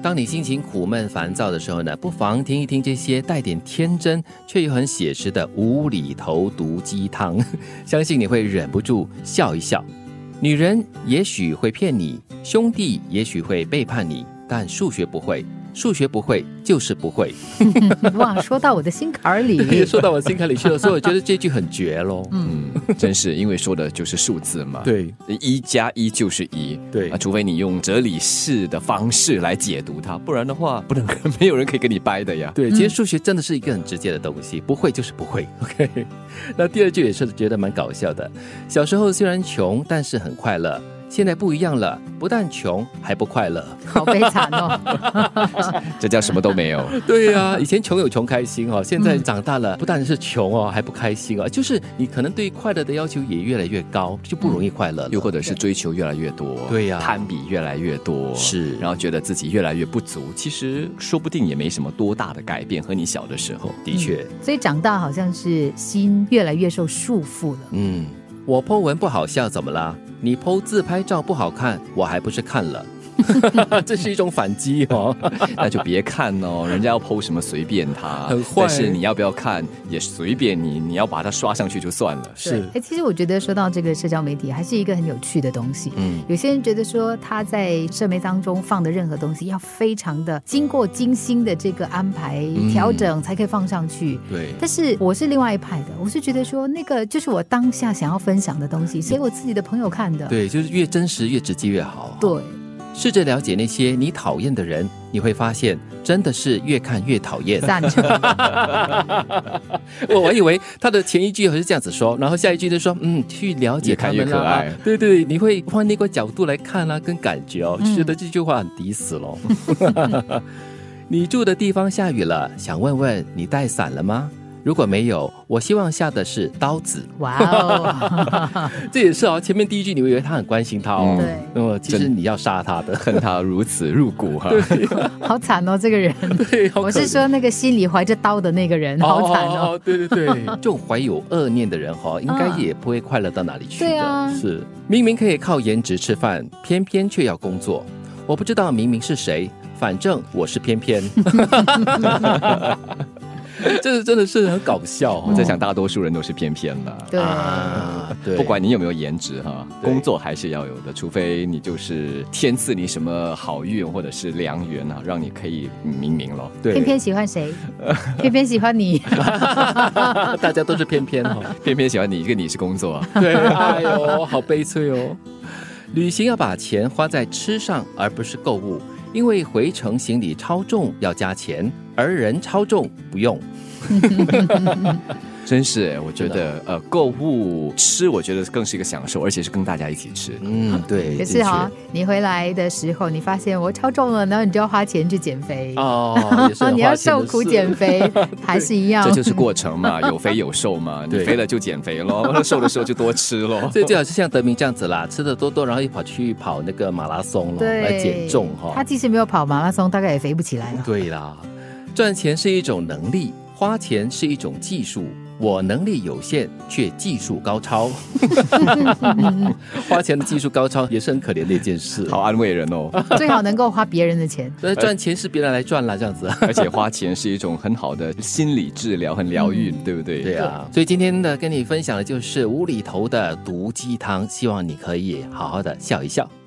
当你心情苦闷烦躁的时候呢，不妨听一听这些带点天真却又很写实的无厘头毒鸡汤，相信你会忍不住笑一笑。女人也许会骗你，兄弟也许会背叛你，但数学不会，数学不会就是不会。 哇，说到我的心坎里， 说到我心坎里去了，所以我觉得这句很绝咯。 真是因为说的就是数字嘛。 对 ，1+1就是1。 对除非你用哲理式的方式来解读它，不然的话，没有人可以跟你掰的呀。 对，其实数学真的是一个很直接的东西，不会就是不会。OK， 那第二句也是觉得蛮搞笑的。小时候虽然穷，但是很快乐。现在不一样了，不但穷还不快乐， 好悲惨哦。 这叫什么都没有。 对啊，以前穷有穷开心哦，现在长大了，不但是穷哦，还不开心哦，就是你可能对快乐的要求也越来越高，就不容易快乐了。 又或者是追求越来越多， 对呀， 攀比越来越多， 是， 然后觉得自己越来越不足，其实说不定也没什么多大的改变，和你小的时候。 的确， 所以长大好像是心越来越受束缚了。 我 po 文不好笑怎么啦？你 po 自拍照不好看，我还不是看了。这是一种反击哦。 那就别看哦，人家要 po 什么随便他， 很坏。 但是你要不要看也随便你，你要把它刷上去就算了。 是。 其实我觉得说到这个社交媒体还是一个很有趣的东西。有些人觉得说他在社媒当中放的任何东西要非常的经过精心的这个安排调整才可以放上去。 对。 但是我是另外一派的，我是觉得说那个就是我当下想要分享的东西，给我自己的朋友看的。 对，就是越真实越直接越好。 对。 试着了解那些你讨厌的人，你会发现真的是越看越讨厌。 赞成。 我以为他的前一句是这样子说，然后下一句就说去了解他们啦， 越看越可爱。 对对，你会换那个角度来看啦，跟感觉哦，觉得这句话很抵死咯。你住的地方下雨了，想问问你带伞了吗？如果没有，我希望下的是刀子。 哇哦， 这也是哦。前面第一句你会以为他很关心他哦， 对， 其实你要杀他的， 恨他如此入骨哈。 对， 好惨哦，这个人。 对， 我是说那个心里怀着刀的那个人，好惨哦。 对对对，这种怀有恶念的人哈，应该也不会快乐到哪里去的。 对啊， 是明明可以靠颜值吃饭，偏偏却要工作。我不知道明明是谁，反正我是偏偏。这真的是很搞笑。 我在想大多数人都是偏偏的。 对对， 不管你有没有颜值哈，工作还是要有的，除非你就是天赐你什么好运或者是良缘啊，让你可以明明咯。 对， 偏偏喜欢谁？偏偏喜欢你。 大家都是偏偏哦， 偏偏喜欢你，一个你是工作啊。 对，哎呦，好悲催哦。旅行要把钱花在吃上，而不是购物。因为回程行李超重要加钱，而人超重不用。 真是，我觉得购物吃，我觉得更是一个享受，而且是跟大家一起吃。 对。 可是哈，你回来的时候，你发现我超重了，然后你就要花钱去减肥哦，也是你要受苦减肥，还是一样。 这就是过程嘛，有肥有瘦嘛。你肥了就减肥咯，瘦的时候就多吃咯。 所以最好是像德明这样子啦，吃的多，然后一跑去跑那个马拉松咯，来减重哈。 他即使没有跑马拉松，大概也肥不起来了。 对啦，赚钱是一种能力，花钱是一种技术。我能力有限，却技术高超。花钱的技术高超也是很可怜的一件事。 好安慰人哦。 最好能够花别人的钱。 赚钱是别人来赚啦，这样子。 而且花钱是一种很好的心理治疗，很疗愈，对不对？ 对啊。所以今天的跟你分享的就是无厘头的毒鸡汤，希望你可以好好的笑一笑。